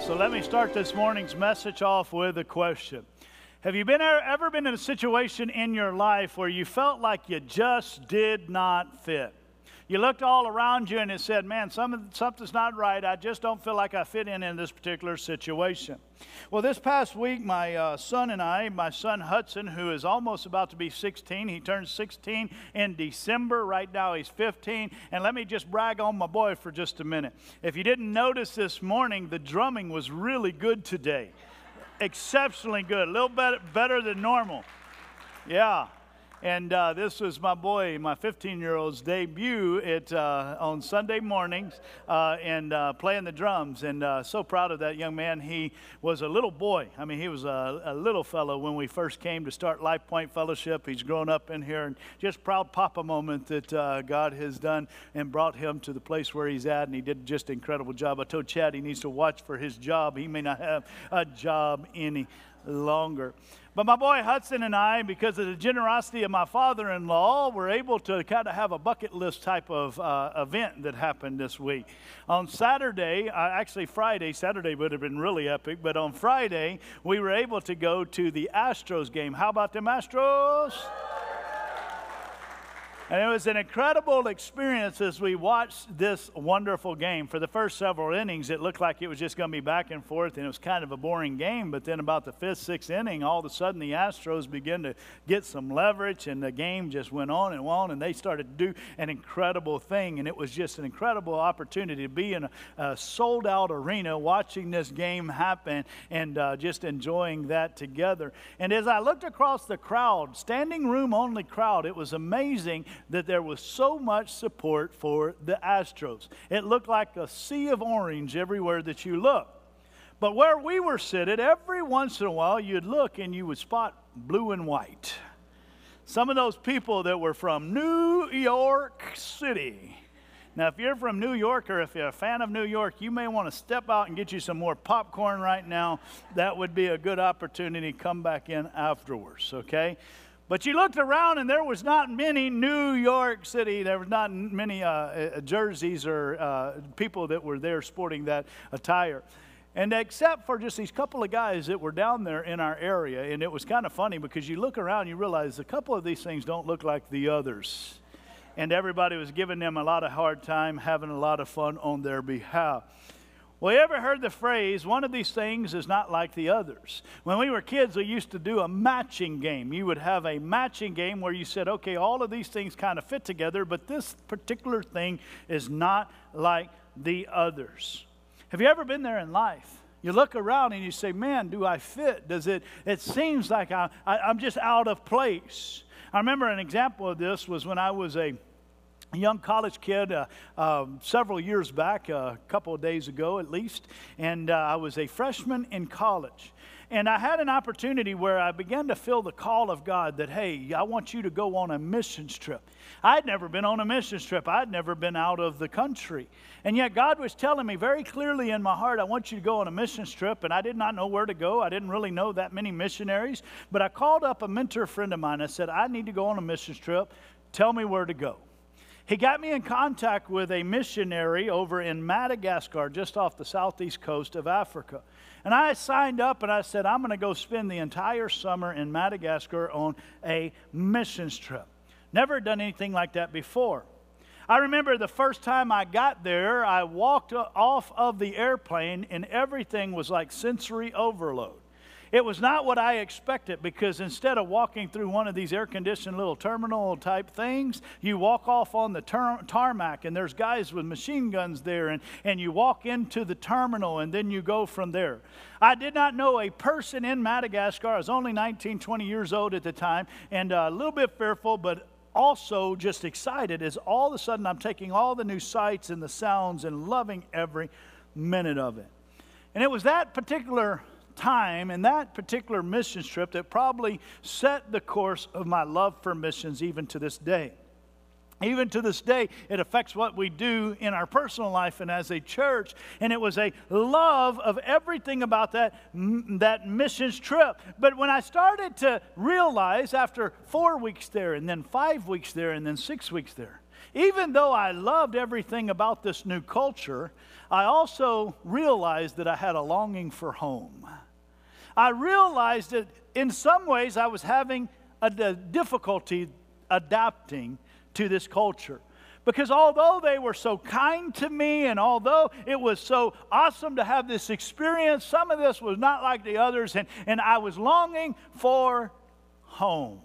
So let me start this morning's message off with a question. Have you ever been in a situation in your life where you felt like you just did not fit? You looked all around you and it said, man, something's not right. I just don't feel like I fit in this particular situation. Well, this past week, my son Hudson, who is almost about to be 16, he turns 16 in December. Right now he's 15. And let me just brag on my boy for just a minute. If you didn't notice this morning, the drumming was really good today. Exceptionally good, a little better than normal. Yeah. And this was my boy, my 15-year-old's debut on Sunday mornings and playing the drums. And so proud of that young man. He was a little boy. I mean, he was a little fellow when we first came to start Life Point Fellowship. He's grown up in here, and just proud papa moment that God has done and brought him to the place where he's at. And he did just an incredible job. I told Chad he needs to watch for his job. He may not have a job any longer. But my boy Hudson and I, because of the generosity of my father-in-law, were able to kind of have a bucket list type of event that happened this week. On Saturday, actually Friday, Saturday would have been really epic, but on Friday, we were able to go to the Astros game. How about them Astros? And it was an incredible experience as we watched this wonderful game. For the first several innings, it looked like it was just going to be back and forth, and it was kind of a boring game. But then about the fifth, sixth inning, all of a sudden the Astros began to get some leverage, and the game just went on, and they started to do an incredible thing. And it was just an incredible opportunity to be in a sold-out arena watching this game happen and just enjoying that together. And as I looked across the crowd, standing room only crowd, it was amazing that there was so much support for the Astros. It looked like a sea of orange everywhere that you look. But where we were seated, every once in a while you'd look and you would spot blue and white. Some of those people that were from New York City. Now, if you're from New York or if you're a fan of New York, you may want to step out and get you some more popcorn right now. That would be a good opportunity to come back in afterwards, okay? But you looked around and there was not many New York City, there was not many jerseys or people that were there sporting that attire. And except for just these couple of guys that were down there in our area, and it was kind of funny because you look around and you realize a couple of these things don't look like the others. And everybody was giving them a lot of hard time, having a lot of fun on their behalf. Well, you ever heard the phrase, one of these things is not like the others? When we were kids, we used to do a matching game. You would have a matching game where you said, okay, all of these things kind of fit together, but this particular thing is not like the others. Have you ever been there in life? You look around and you say, man, do I fit? It seems like I'm just out of place. I remember an example of this was when I was a young college kid several years back, a couple of days ago at least, and I was a freshman in college. And I had an opportunity where I began to feel the call of God that, hey, I want you to go on a missions trip. I'd never been on a missions trip. I'd never been out of the country. And yet God was telling me very clearly in my heart, I want you to go on a missions trip. And I did not know where to go. I didn't really know that many missionaries. But I called up a mentor friend of mine. I said, I need to go on a missions trip. Tell me where to go. He got me in contact with a missionary over in Madagascar, just off the southeast coast of Africa. And I signed up and I said, I'm going to go spend the entire summer in Madagascar on a missions trip. Never done anything like that before. I remember the first time I got there, I walked off of the airplane and everything was like sensory overload. It was not what I expected, because instead of walking through one of these air-conditioned little terminal type things, you walk off on the tarmac and there's guys with machine guns there, and you walk into the terminal and then you go from there. I did not know a person in Madagascar. I was only 19, 20 years old at the time, and a little bit fearful, but also just excited as all of a sudden I'm taking all the new sights and the sounds and loving every minute of it. And it was that particular time and that particular missions trip that probably set the course of my love for missions even to this day. Even to this day, it affects what we do in our personal life and as a church. And it was a love of everything about that missions trip. But when I started to realize after 4 weeks there, and then 5 weeks there, and then 6 weeks there, even though I loved everything about this new culture, I also realized that I had a longing for home. I realized that in some ways I was having a difficulty adapting to this culture. Because although they were so kind to me, and although it was so awesome to have this experience, some of this was not like the others, and I was longing for home.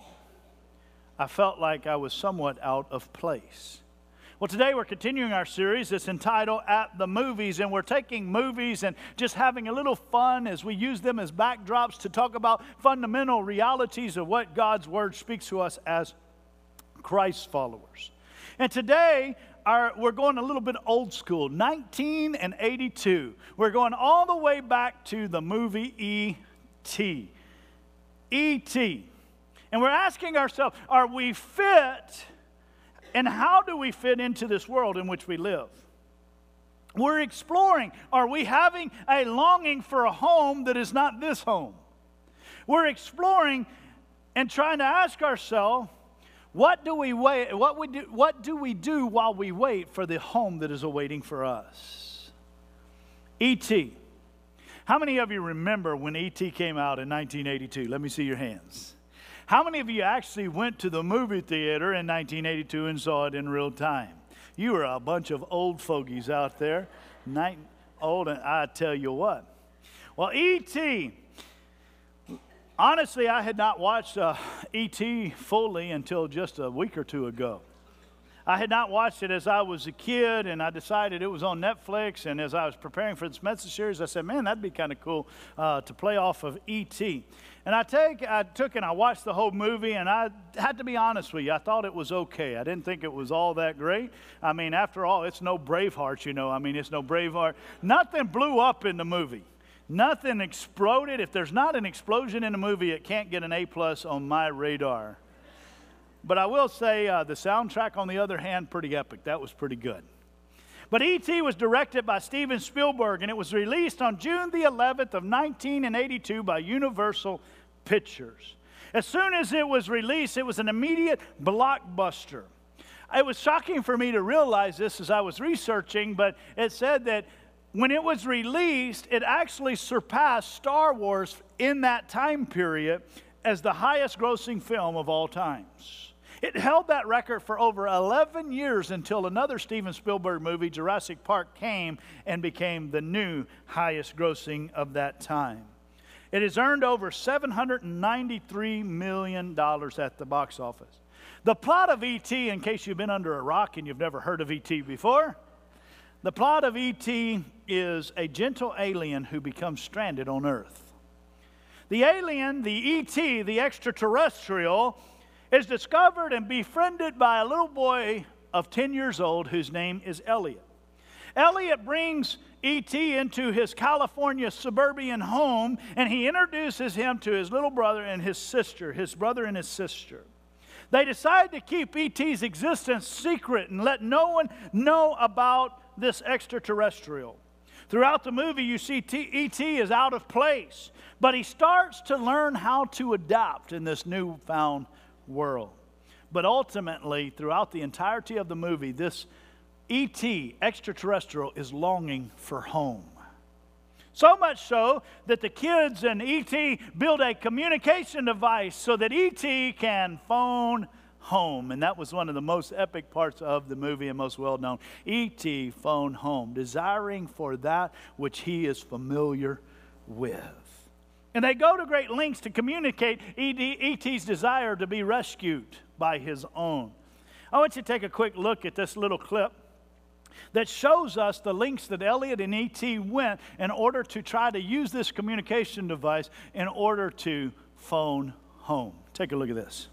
I felt like I was somewhat out of place. Well, today we're continuing our series that's entitled At the Movies, and we're taking movies and just having a little fun as we use them as backdrops to talk about fundamental realities of what God's Word speaks to us as Christ followers. And today, we're going a little bit old school, 1982. We're going all the way back to the movie E.T. E.T. And we're asking ourselves, are we fit, and how do we fit into this world in which we live? We're exploring, are we having a longing for a home that is not this home? We're exploring and trying to ask ourselves, what do we do while we wait for the home that is awaiting for us? E.T. How many of you remember when E.T. came out in 1982? Let me see your hands. How many of you actually went to the movie theater in 1982 and saw it in real time? You are a bunch of old fogies out there. Old, and I tell you what. Well, E.T., honestly, I had not watched E.T. fully until just a week or two ago. I had not watched it as I was a kid, and I decided it was on Netflix, and as I was preparing for this message series, I said, man, that'd be kind of cool to play off of E.T. And I took and I watched the whole movie, and I had to be honest with you, I thought it was okay. I didn't think it was all that great. I mean, after all, it's no Braveheart, you know. I mean, it's no Braveheart. Nothing blew up in the movie. Nothing exploded. If there's not an explosion in a movie, it can't get an A+ on my radar. But I will say the soundtrack, on the other hand, pretty epic. That was pretty good. But E.T. was directed by Steven Spielberg, and it was released on June the 11th of 1982 by Universal Pictures. As soon as it was released, it was an immediate blockbuster. It was shocking for me to realize this as I was researching, but it said that when it was released, it actually surpassed Star Wars in that time period as the highest grossing film of all times. It held that record for over 11 years until another Steven Spielberg movie, Jurassic Park, came and became the new highest grossing of that time. It has earned over $793 million at the box office. The plot of E.T., in case you've been under a rock and you've never heard of E.T. before, the plot of E.T. is a gentle alien who becomes stranded on Earth. The alien, the E.T., the extraterrestrial, is discovered and befriended by a little boy of 10 years old whose name is Elliot. Elliot brings E.T. into his California suburban home, and he introduces him to his little brother and his sister, his brother and his sister. They decide to keep E.T.'s existence secret and let no one know about this extraterrestrial. Throughout the movie, you see E.T. is out of place, but he starts to learn how to adapt in this newfound world. But ultimately, throughout the entirety of the movie, this E.T. extraterrestrial is longing for home. So much so that the kids and E.T. build a communication device so that E.T. can phone home. And that was one of the most epic parts of the movie and most well known. E.T. phone home, desiring for that which he is familiar with. And they go to great lengths to communicate E.T.'s desire to be rescued by his own. I want you to take a quick look at this little clip that shows us the lengths that Elliot and E.T. went in order to try to use this communication device in order to phone home. Take a look at this.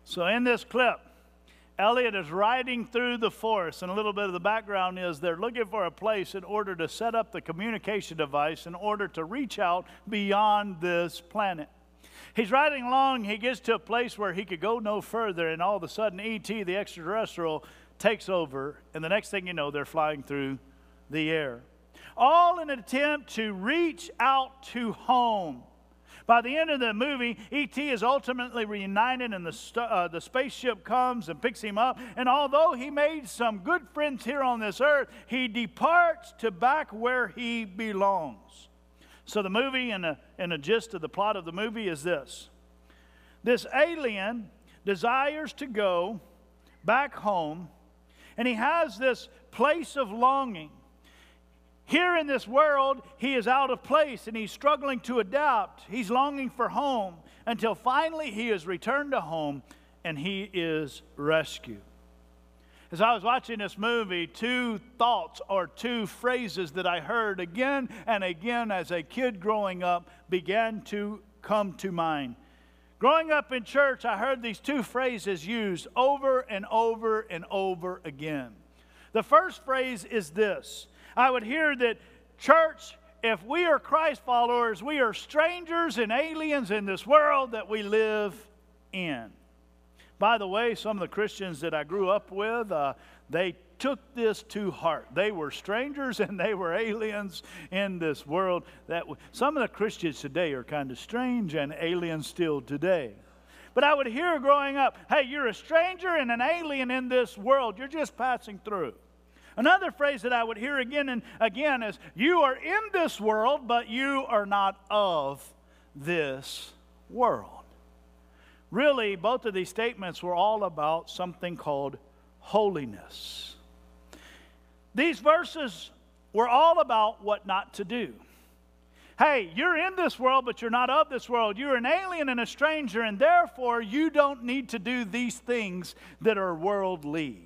So in this clip, Elliot is riding through the forest, and a little bit of the background is they're looking for a place in order to set up the communication device in order to reach out beyond this planet. He's riding along, he gets to a place where he could go no further, and all of a sudden E.T., the extraterrestrial, takes over, and the next thing you know, they're flying through the air. All in an attempt to reach out to home. By the end of the movie, E.T. is ultimately reunited, and the spaceship comes and picks him up. And although he made some good friends here on this earth, he departs to back where he belongs. So the movie and the gist of the plot of the movie is this. This alien desires to go back home, and he has this place of longing. Here in this world, he is out of place and he's struggling to adapt. He's longing for home until finally he is returned to home and he is rescued. As I was watching this movie, two thoughts or two phrases that I heard again and again as a kid growing up began to come to mind. Growing up in church, I heard these two phrases used over and over and over again. The first phrase is this. I would hear that, church, if we are Christ followers, we are strangers and aliens in this world that we live in. By the way, some of the Christians that I grew up with, they took this to heart. They were strangers and they were aliens in this world. Some of the Christians today are kind of strange and aliens still today. But I would hear growing up, hey, you're a stranger and an alien in this world. You're just passing through. Another phrase that I would hear again and again is, you are in this world, but you are not of this world. Really, both of these statements were all about something called holiness. These verses were all about what not to do. Hey, you're in this world, but you're not of this world. You're an alien and a stranger, and therefore you don't need to do these things that are worldly.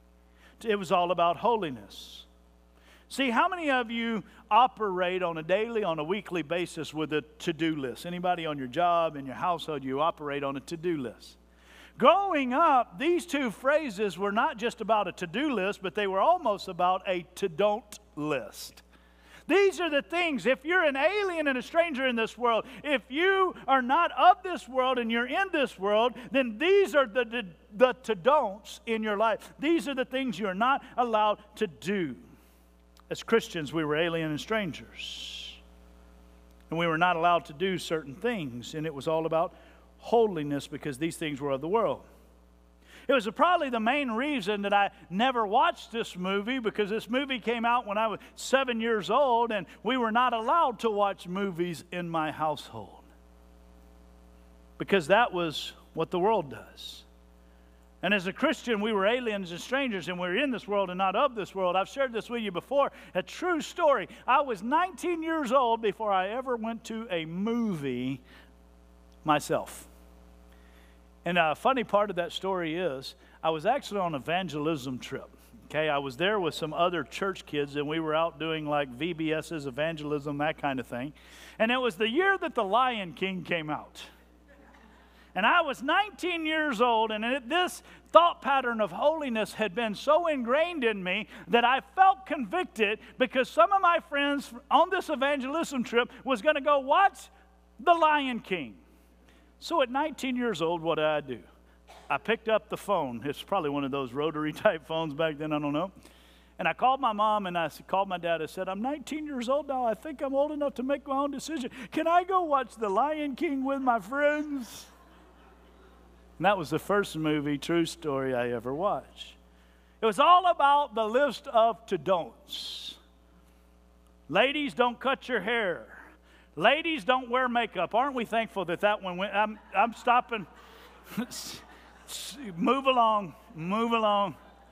It was all about holiness. See, how many of you operate on a daily, on a weekly basis with a to-do list? Anybody on your job, in your household, you operate on a to-do list? Growing up, these two phrases were not just about a to-do list, but they were almost about a to-don't list. These are the things, if you're an alien and a stranger in this world, if you are not of this world and you're in this world, then these are the to-don'ts in your life. These are the things you're not allowed to do. As Christians, we were alien and strangers. And we were not allowed to do certain things. And it was all about holiness because these things were of the world. It was probably the main reason that I never watched this movie, because this movie came out when I was 7 years old, and we were not allowed to watch movies in my household. Because that was what the world does. And as a Christian, we were aliens and strangers, and we were in this world and not of this world. I've shared this with you before, a true story. I was 19 years old before I ever went to a movie myself. And a funny part of that story is, I was actually on an evangelism trip. Okay, I was there with some other church kids, and we were out doing like VBS's, evangelism, that kind of thing. And it was the year that The Lion King came out. And I was 19 years old, and this thought pattern of holiness had been so ingrained in me that I felt convicted because some of my friends on this evangelism trip was going to go watch The Lion King. So at 19 years old, what did? I picked up the phone. It's probably one of those rotary type phones back then, I don't know. And I called my mom and I called my dad. I said, I'm 19 years old now. I think I'm old enough to make my own decision. Can I go watch The Lion King with my friends? And that was the first movie, true story, I ever watched. It was all about the list of to-don'ts. Ladies, don't cut your hair. Ladies, don't wear makeup. Aren't we thankful that that one went? I'm stopping. Move along. Move along.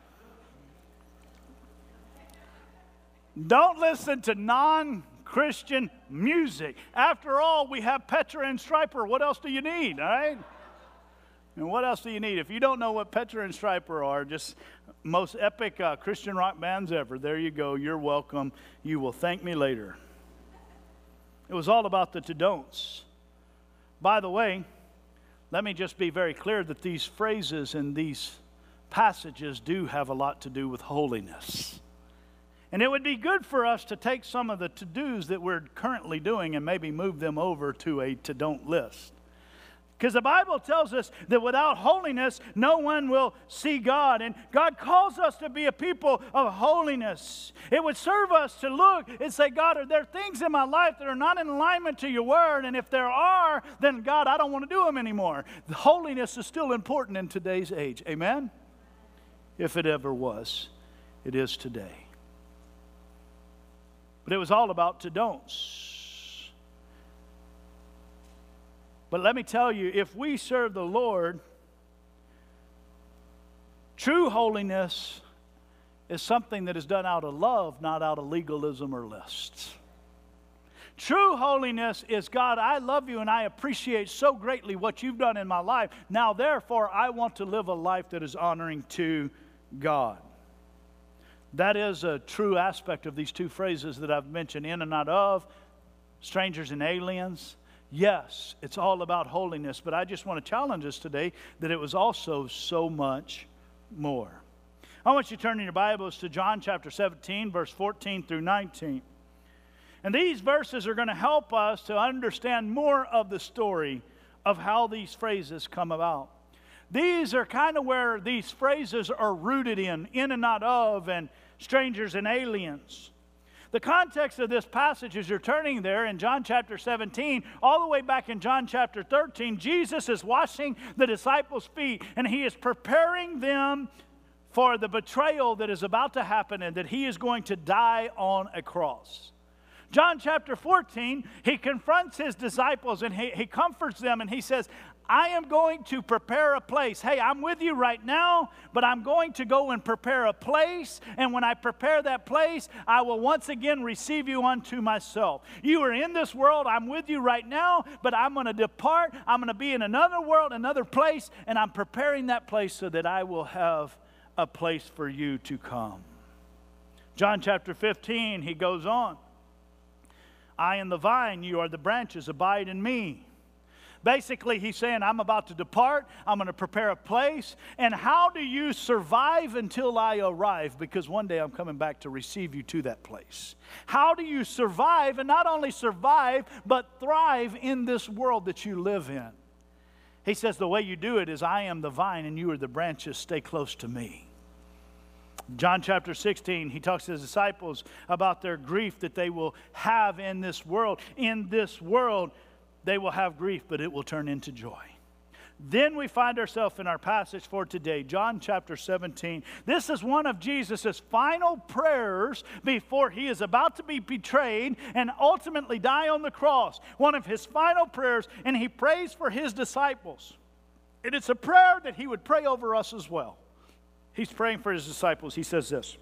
Don't listen to non-Christian music. After all, we have Petra and Stryper. What else do you need, all right? And what else do you need? If you don't know what Petra and Stryper are, just most epic Christian rock bands ever. There you go. You're welcome. You will thank me later. It was all about the to-don'ts. By the way, let me just be very clear that these phrases and these passages do have a lot to do with holiness. And it would be good for us to take some of the to-dos that we're currently doing and maybe move them over to a to-don't list. Because the Bible tells us that without holiness, no one will see God. And God calls us to be a people of holiness. It would serve us to look and say, God, are there things in my life that are not in alignment to your word? And if there are, then God, I don't want to do them anymore. The holiness is still important in today's age. Amen? If it ever was, it is today. But it was all about to-don'ts. But let me tell you, if we serve the Lord, true holiness is something that is done out of love, not out of legalism or lists. True holiness is, God, I love you and I appreciate so greatly what you've done in my life. Now, therefore, I want to live a life that is honoring to God. That is a true aspect of these two phrases that I've mentioned, in and not of, strangers and aliens. Yes, it's all about holiness, but I just want to challenge us today that it was also so much more. I want you to turn in your Bibles to John chapter 17, verse 14 through 19. And these verses are going to help us to understand more of the story of how these phrases come about. These are kind of where these phrases are rooted in and not of, and strangers and aliens. The context of this passage, as you're turning there in John chapter 17, all the way back in John chapter 13, Jesus is washing the disciples' feet, and he is preparing them for the betrayal that is about to happen and that he is going to die on a cross. John chapter 14, he confronts his disciples and he comforts them, and he says, I am going to prepare a place. Hey, I'm with you right now, but I'm going to go and prepare a place. And when I prepare that place, I will once again receive you unto myself. You are in this world. I'm with you right now, but I'm going to depart. I'm going to be in another world, another place, and I'm preparing that place so that I will have a place for you to come. John chapter 15, he goes on. I am the vine, you are the branches, abide in me. Basically, he's saying, I'm about to depart. I'm going to prepare a place. And how do you survive until I arrive? Because one day I'm coming back to receive you to that place. How do you survive, and not only survive, but thrive in this world that you live in? He says the way you do it is, I am the vine and you are the branches. Stay close to me. John chapter 16, he talks to his disciples about their grief that they will have in this world. In this world, they will have grief, but it will turn into joy. Then we find ourselves in our passage for today, John chapter 17. This is one of Jesus' final prayers before he is about to be betrayed and ultimately die on the cross. One of his final prayers, and he prays for his disciples. And it's a prayer that he would pray over us as well. He's praying for his disciples. He says this,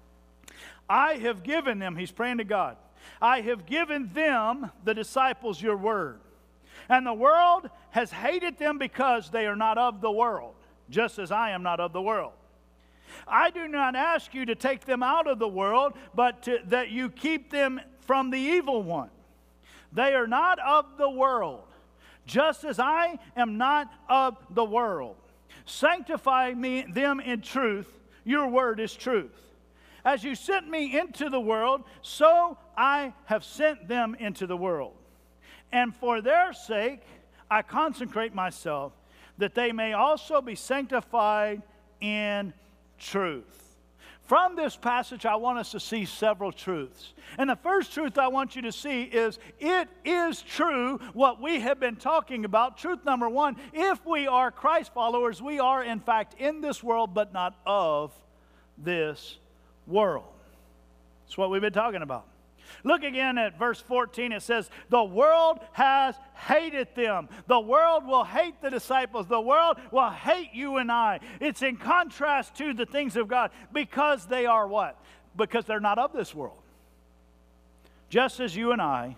I have given them, he's praying to God, I have given them, the disciples, your word. And the world has hated them because they are not of the world, just as I am not of the world. I do not ask you to take them out of the world, but that you keep them from the evil one. They are not of the world, just as I am not of the world. Sanctify them in truth. Your word is truth. As you sent me into the world, so I have sent them into the world. And for their sake, I consecrate myself, that they may also be sanctified in truth. From this passage, I want us to see several truths. And the first truth I want you to see is, it is true what we have been talking about. Truth number one, if we are Christ followers, we are in fact in this world, but not of this world. That's what we've been talking about. Look again at verse 14. It says, the world has hated them. The world will hate the disciples. The world will hate you and I. It's in contrast to the things of God, because they are what? Because they're not of this world. Just as you and I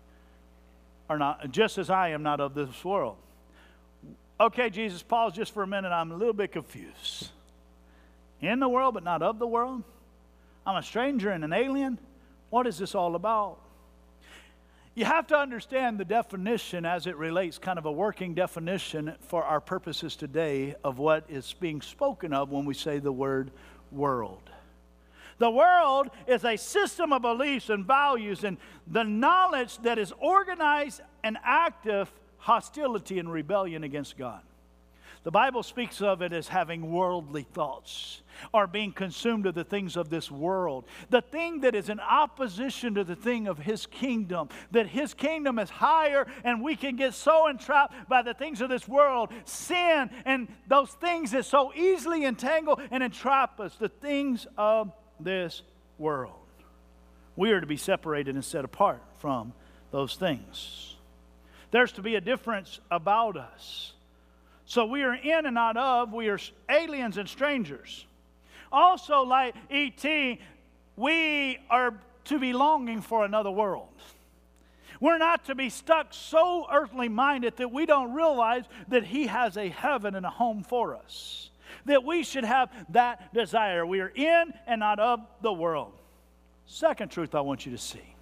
are not, just as I am not of this world. Okay, Jesus, pause just for a minute. I'm a little bit confused. In the world, but not of the world? I'm a stranger and an alien? What is this all about? You have to understand the definition as it relates, kind of a working definition for our purposes today of what is being spoken of when we say the word world. The world is a system of beliefs and values and the knowledge that is organized and active hostility and rebellion against God. The Bible speaks of it as having worldly thoughts or being consumed of the things of this world. The thing that is in opposition to the thing of His kingdom. That His kingdom is higher and we can get so entrapped by the things of this world. Sin and those things that so easily entangle and entrap us. The things of this world. We are to be separated and set apart from those things. There's to be a difference about us. So we are in and not of, we are aliens and strangers. Also, like E.T., we are to be longing for another world. We're not to be stuck so earthly minded that we don't realize that He has a heaven and a home for us. That we should have that desire. We are in and not of the world. Second truth I want you to see.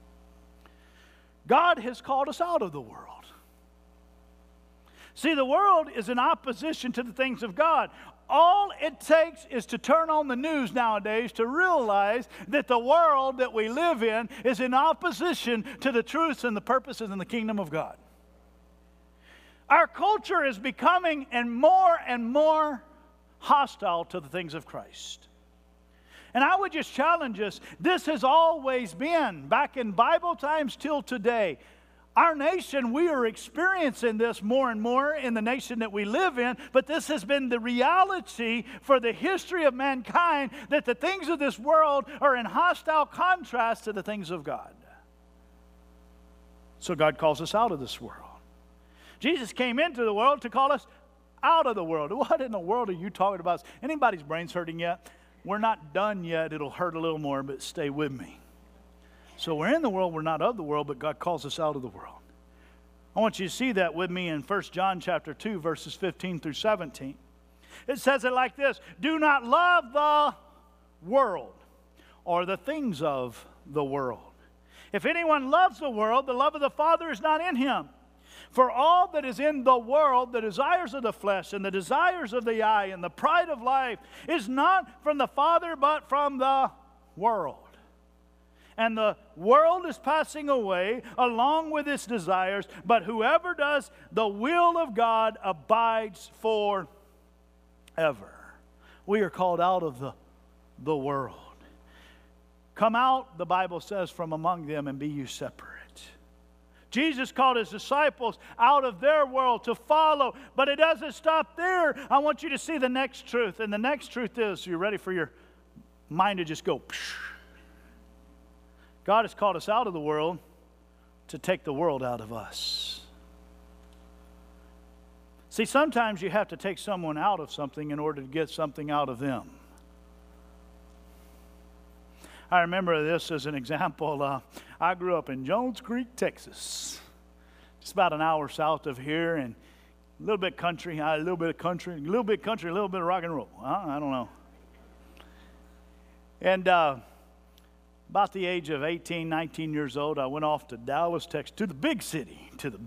God has called us out of the world. See, the world is in opposition to the things of God. All it takes is to turn on the news nowadays to realize that the world that we live in is in opposition to the truths and the purposes in the kingdom of God. Our culture is becoming and more hostile to the things of Christ. And I would just challenge us, this has always been, back in Bible times till today. Our nation, we are experiencing this more and more in the nation that we live in, but this has been the reality for the history of mankind, that the things of this world are in hostile contrast to the things of God. So God calls us out of this world. Jesus came into the world to call us out of the world. What in the world are you talking about? Anybody's brains hurting yet? We're not done yet. It'll hurt a little more, but stay with me. So we're in the world, we're not of the world, but God calls us out of the world. I want you to see that with me in 1 John chapter 2, verses 15 through 17. It says it like this: do not love the world or the things of the world. If anyone loves the world, the love of the Father is not in him. For all that is in the world, the desires of the flesh and the desires of the eye and the pride of life, is not from the Father but from the world. And the world is passing away along with its desires, but whoever does the will of God abides forever. We are called out of the world. Come out, the Bible says, from among them and be you separate. Jesus called His disciples out of their world to follow, but it doesn't stop there. I want you to see the next truth, and the next truth is, you're ready for your mind to just go, psh. God has called us out of the world to take the world out of us. See, sometimes you have to take someone out of something in order to get something out of them. I remember this as an example. I grew up in Jones Creek, Texas. Just about an hour south of here, and a little bit country, a little bit of rock and roll. I don't know. And about the age of 18, 19 years old, I went off to Dallas, Texas, to the big city.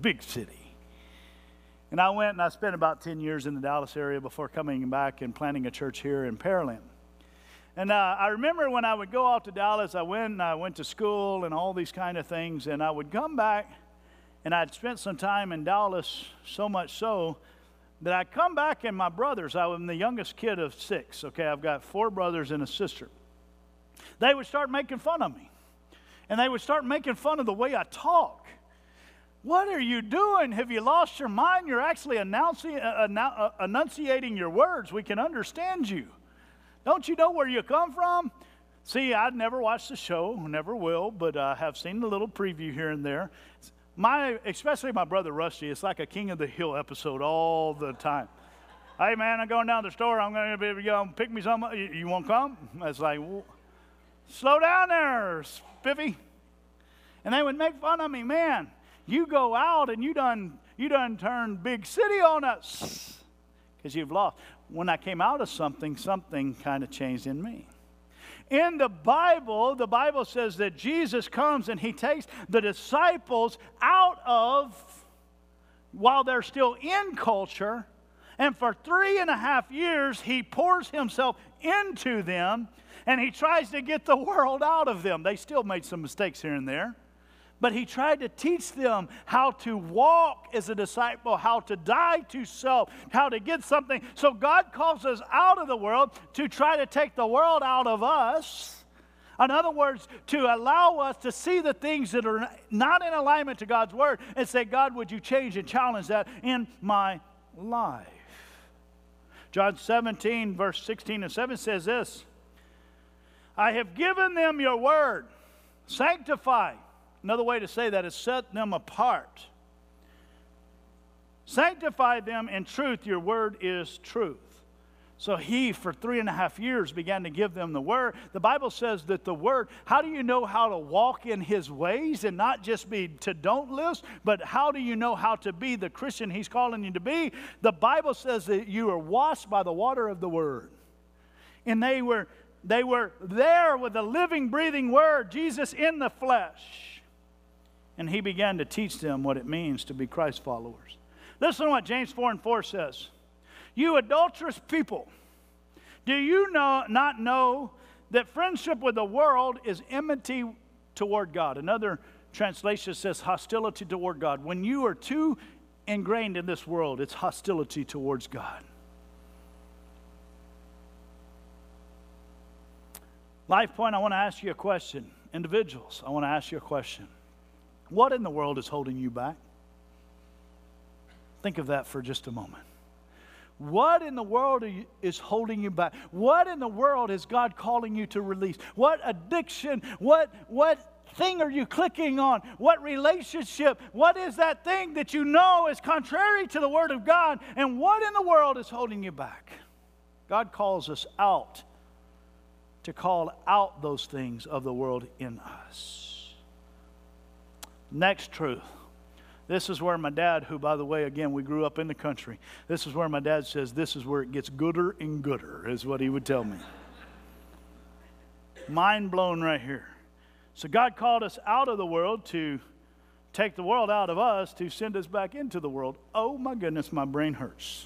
And I went and I spent about 10 years in the Dallas area before coming back and planting a church here in Pearland. And I remember when I would go out to Dallas, I went to school and all these kind of things, and I would come back, and I'd spent some time in Dallas, so much so that I'd come back, and my brothers, I'm the youngest kid of 6, okay? I've got 4 brothers and a sister. They would start making fun of me, and they would start making fun of the way I talk. What are you doing? Have you lost your mind? You're actually enunciating your words. We can understand you. Don't you know where you come from? See, I'd never watched the show, never will, but I have seen the little preview here and there. Especially my brother Rusty, it's like a King of the Hill episode all the time. Hey, man, I'm going down to the store. I'm going to pick me some. You want to come? It's like, well, slow down there, Spiffy. And they would make fun of me. Man, you go out and you done turned big city on us because you've lost. When I came out of something kind of changed in me. In the Bible says that Jesus comes and he takes the disciples out of, while they're still in culture, and for 3.5 years he pours himself into them and he tries to get the world out of them. They still made some mistakes here and there. But he tried to teach them how to walk as a disciple, how to die to self, how to get something. So God calls us out of the world to try to take the world out of us. In other words, to allow us to see the things that are not in alignment to God's word and say, God, would you change and challenge that in my life? John 17, verse 16 and 7 says this, I have given them your word, sanctify. Another way to say that is set them apart. Sanctify them in truth. Your word is truth. So he, for 3.5 years, began to give them the word. The Bible says that the word, how do you know how to walk in his ways and not just be to don't list, but how do you know how to be the Christian he's calling you to be? The Bible says that you are washed by the water of the word. And they were there with the living, breathing word, Jesus in the flesh. And he began to teach them what it means to be Christ followers. Listen to what James 4:4 says. You adulterous people, do you not know that friendship with the world is enmity toward God? Another translation says hostility toward God. When you are too ingrained in this world, it's hostility towards God. Life Point, I want to ask you a question. Individuals, I want to ask you a question. What in the world is holding you back? Think of that for just a moment. What in the world is holding you back? What in the world is God calling you to release? What addiction, what thing are you clicking on? What relationship? What is that thing that you know is contrary to the Word of God? And what in the world is holding you back? God calls us out to call out those things of the world in us. Next truth. This is where my dad, who, by the way, again, we grew up in the country. This is where my dad says, this is where it gets gooder and gooder, is what he would tell me. Mind blown right here. So God called us out of the world to take the world out of us to send us back into the world. Oh my goodness, my brain hurts.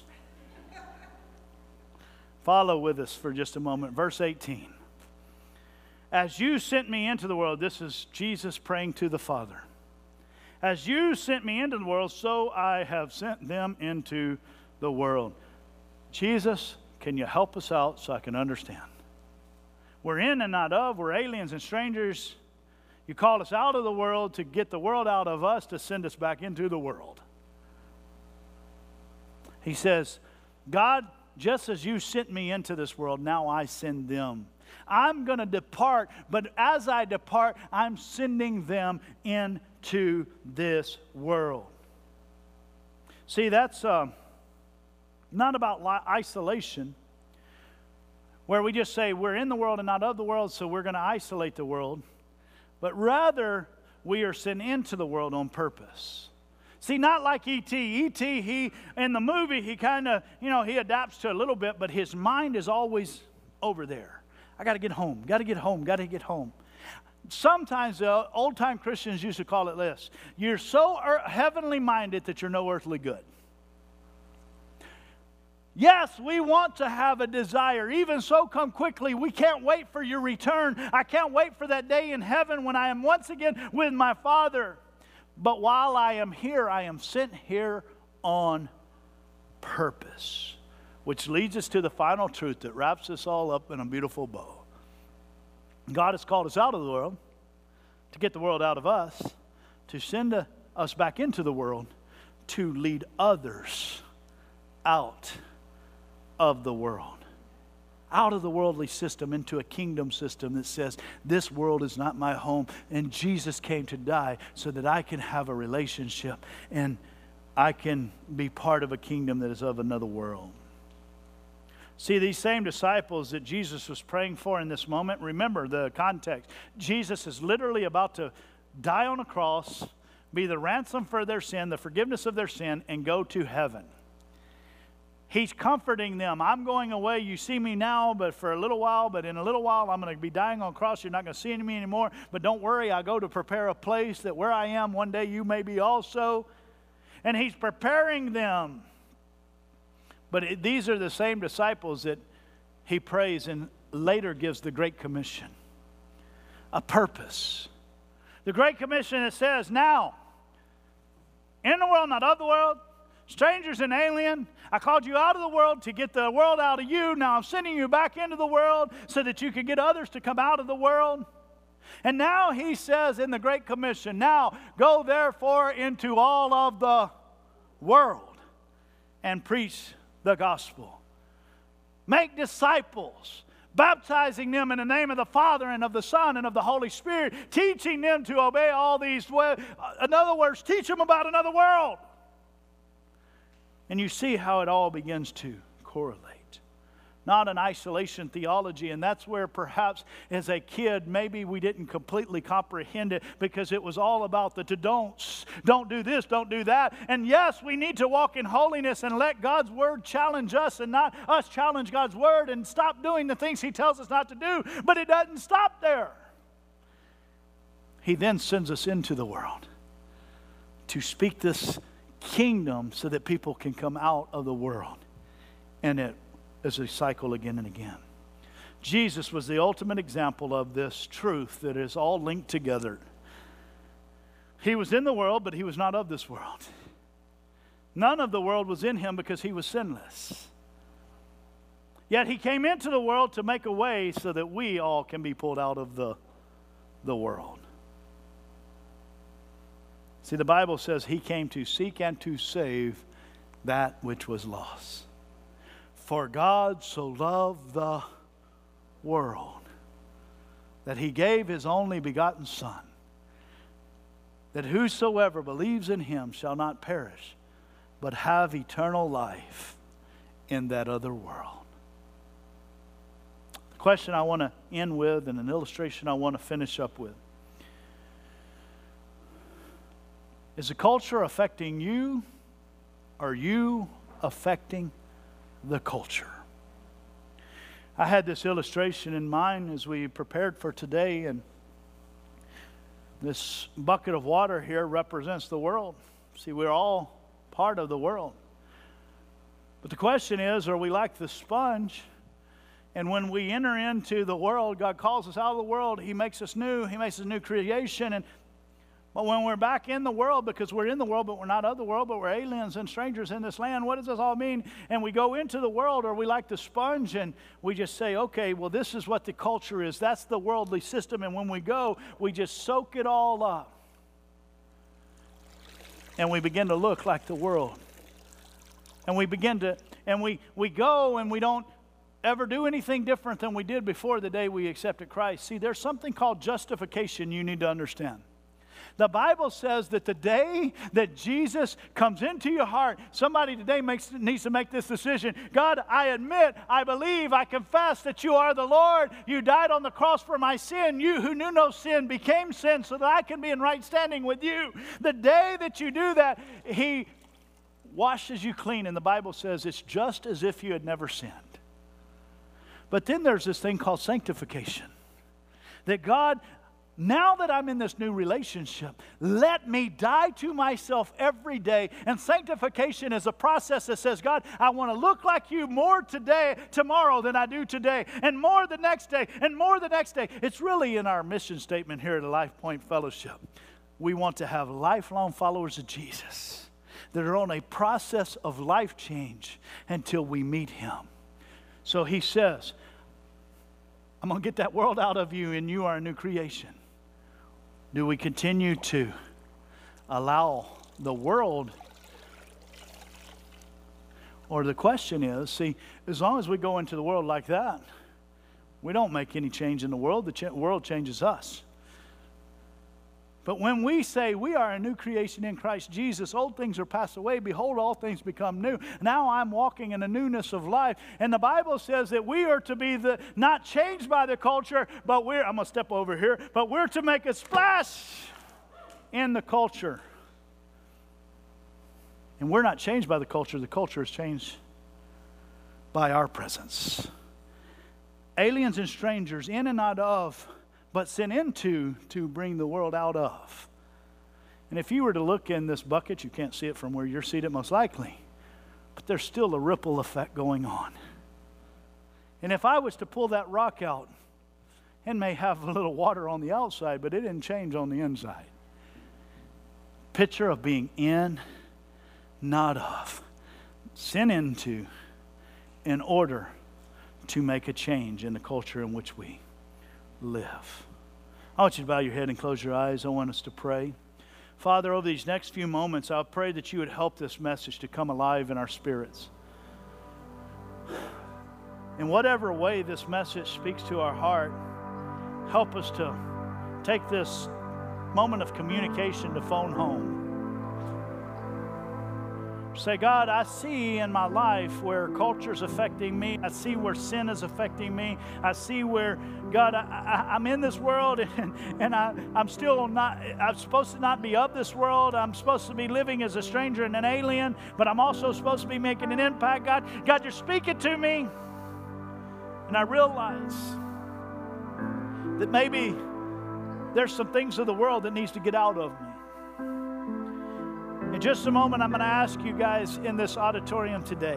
Follow with us for just a moment. Verse 18. As you sent me into the world, this is Jesus praying to the Father. As you sent me into the world, so I have sent them into the world. Jesus, can you help us out so I can understand? We're in and not of. We're aliens and strangers. You called us out of the world to get the world out of us to send us back into the world. He says, God, just as you sent me into this world, now I send them. I'm going to depart, but as I depart, I'm sending them into this world. See, that's not about isolation, where we just say we're in the world and not of the world, so we're going to isolate the world. But rather, we are sent into the world on purpose. See, not like E.T. E.T., he, in the movie, he kind of, he adapts to a little bit, but his mind is always over there. I got to get home, got to get home, got to get home. Sometimes the old-time Christians used to call it this. You're so heavenly minded that you're no earthly good. Yes, we want to have a desire. Even so, come quickly. We can't wait for your return. I can't wait for that day in heaven when I am once again with my Father. But while I am here, I am sent here on purpose. Which leads us to the final truth that wraps us all up in a beautiful bow. God has called us out of the world to get the world out of us, to send us back into the world, to lead others out of the world. Out of the worldly system into a kingdom system that says, this world is not my home, and Jesus came to die so that I can have a relationship and I can be part of a kingdom that is of another world. See, these same disciples that Jesus was praying for in this moment, remember the context. Jesus is literally about to die on a cross, be the ransom for their sin, the forgiveness of their sin, and go to heaven. He's comforting them. I'm going away. You see me now, but for a little while. But in a little while, I'm going to be dying on a cross. You're not going to see me anymore. But don't worry, I go to prepare a place that where I am, one day you may be also. And he's preparing them. But these are the same disciples that he prays and later gives the Great Commission. A purpose. The Great Commission, it says, now, in the world, not of the world, strangers and alien, I called you out of the world to get the world out of you. Now I'm sending you back into the world so that you can get others to come out of the world. And now he says in the Great Commission, now go therefore into all of the world and preach the gospel. Make disciples, baptizing them in the name of the Father and of the Son and of the Holy Spirit, teaching them to obey all these. In other words, teach them about another world. And you see how it all begins to correlate. Not an isolation theology, and that's where perhaps as a kid maybe we didn't completely comprehend it because it was all about the don'ts. Don't do this, don't do that. And yes, we need to walk in holiness and let God's Word challenge us and not us challenge God's Word and stop doing the things He tells us not to do. But it doesn't stop there. He then sends us into the world to speak this kingdom so that people can come out of the world. And it is a cycle again and again. Jesus was the ultimate example of this truth that is all linked together. He was in the world, but he was not of this world. None of the world was in him because he was sinless. Yet he came into the world to make a way so that we all can be pulled out of the world. See, the Bible says he came to seek and to save that which was lost. For God so loved the world that he gave his only begotten Son, that whosoever believes in him shall not perish, but have eternal life in that other world. The question I want to end with and an illustration I want to finish up with. Is the culture affecting you? Or are you affecting the culture? I had this illustration in mind as we prepared for today, and this bucket of water here represents the world. See, we're all part of the world. But the question is, are we like the sponge? And when we enter into the world, God calls us out of the world. He makes us new. He makes us a new creation. But when we're back in the world, because we're in the world, but we're not of the world, but we're aliens and strangers in this land, what does this all mean? And we go into the world, or we like the sponge, and we just say, okay, well, this is what the culture is. That's the worldly system. And when we go, we just soak it all up. And we begin to look like the world. And we begin to, and we go and we don't ever do anything different than we did before the day we accepted Christ. See, there's something called justification you need to understand. The Bible says that the day that Jesus comes into your heart, somebody today needs to make this decision. God, I admit, I believe, I confess that you are the Lord. You died on the cross for my sin. You who knew no sin became sin so that I can be in right standing with you. The day that you do that, He washes you clean. And the Bible says it's just as if you had never sinned. But then there's this thing called sanctification. That God, now that I'm in this new relationship, let me die to myself every day. And sanctification is a process that says, God, I want to look like you more tomorrow than I do today, and more the next day, and more the next day. It's really in our mission statement here at Life Point Fellowship. We want to have lifelong followers of Jesus that are on a process of life change until we meet Him. So He says, I'm going to get that world out of you, and you are a new creation. Do we continue to allow the world? Or the question is, see, as long as we go into the world like that, we don't make any change in the world. The world changes us. But when we say we are a new creation in Christ Jesus, old things are passed away. Behold, all things become new. Now I'm walking in a newness of life. And the Bible says that we are to be not changed by the culture, but I'm going to step over here, but we're to make a splash in the culture. And we're not changed by the culture is changed by our presence. Aliens and strangers in and not of, but sent into to bring the world out of. And if you were to look in this bucket, you can't see it from where you're seated most likely, but there's still a ripple effect going on. And if I was to pull that rock out, it may have a little water on the outside, but it didn't change on the inside. Picture of being in, not of, sent into, in order to make a change in the culture in which we live. I want you to bow your head and close your eyes. I want us to pray. Father, over these next few moments, I pray that you would help this message to come alive in our spirits. In whatever way this message speaks to our heart, help us to take this moment of communication to phone home. Say, God, I see in my life where culture is affecting me. I see where sin is affecting me. I see where, God, I'm in this world and I'm still not, I'm supposed to not be of this world. I'm supposed to be living as a stranger and an alien, but I'm also supposed to be making an impact. God, you're speaking to me. And I realize that maybe there's some things of the world that needs to get out of me. In just a moment, I'm going to ask you guys in this auditorium today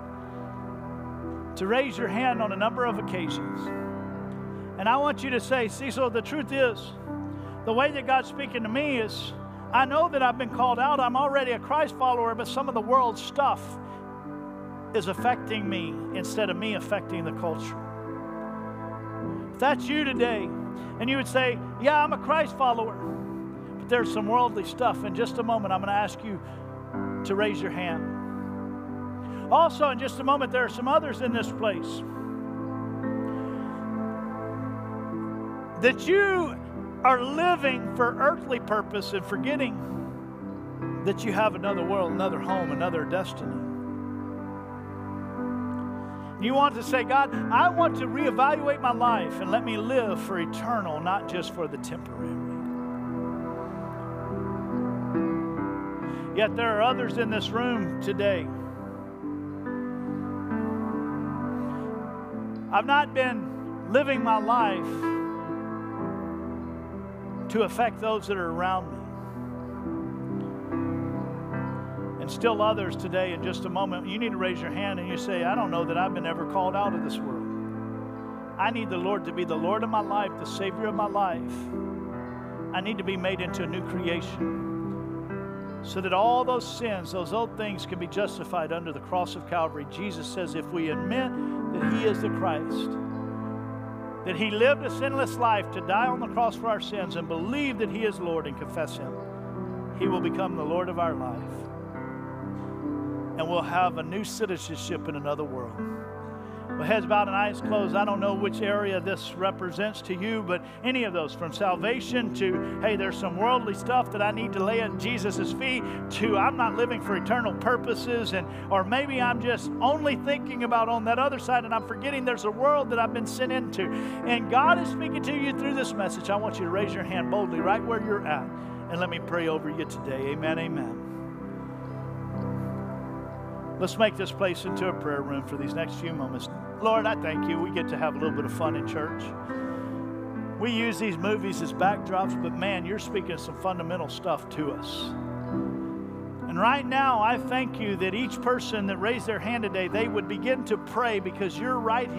to raise your hand on a number of occasions. And I want you to say, Cecil, the truth is, the way that God's speaking to me is, I know that I've been called out. I'm already a Christ follower, but some of the world's stuff is affecting me instead of me affecting the culture. If that's you today, and you would say, yeah, I'm a Christ follower, there's some worldly stuff. In just a moment, I'm going to ask you to raise your hand. Also, in just a moment, there are some others in this place that you are living for earthly purpose and forgetting that you have another world, another home, another destiny. You want to say, God, I want to reevaluate my life and let me live for eternal, not just for the temporary. Yet there are others in this room today. I've not been living my life to affect those that are around me. And still others today, in just a moment, you need to raise your hand and you say, I don't know that I've been ever called out of this world. I need the Lord to be the Lord of my life, the Savior of my life. I need to be made into a new creation, so that all those sins, those old things can be justified under the cross of Calvary. Jesus says if we admit that He is the Christ, that He lived a sinless life to die on the cross for our sins, and believe that He is Lord and confess Him, He will become the Lord of our life. And we'll have a new citizenship in another world. With heads bowed and eyes closed, I don't know which area this represents to you, but any of those, from salvation to, hey, there's some worldly stuff that I need to lay at Jesus' feet, to I'm not living for eternal purposes, or maybe I'm just only thinking about on that other side and I'm forgetting there's a world that I've been sent into. And God is speaking to you through this message. I want you to raise your hand boldly right where you're at, and let me pray over you today. Amen, amen. Let's make this place into a prayer room for these next few moments. Lord, I thank you. We get to have a little bit of fun in church. We use these movies as backdrops, but man, you're speaking some fundamental stuff to us. And right now, I thank you that each person that raised their hand today, they would begin to pray because you're right here.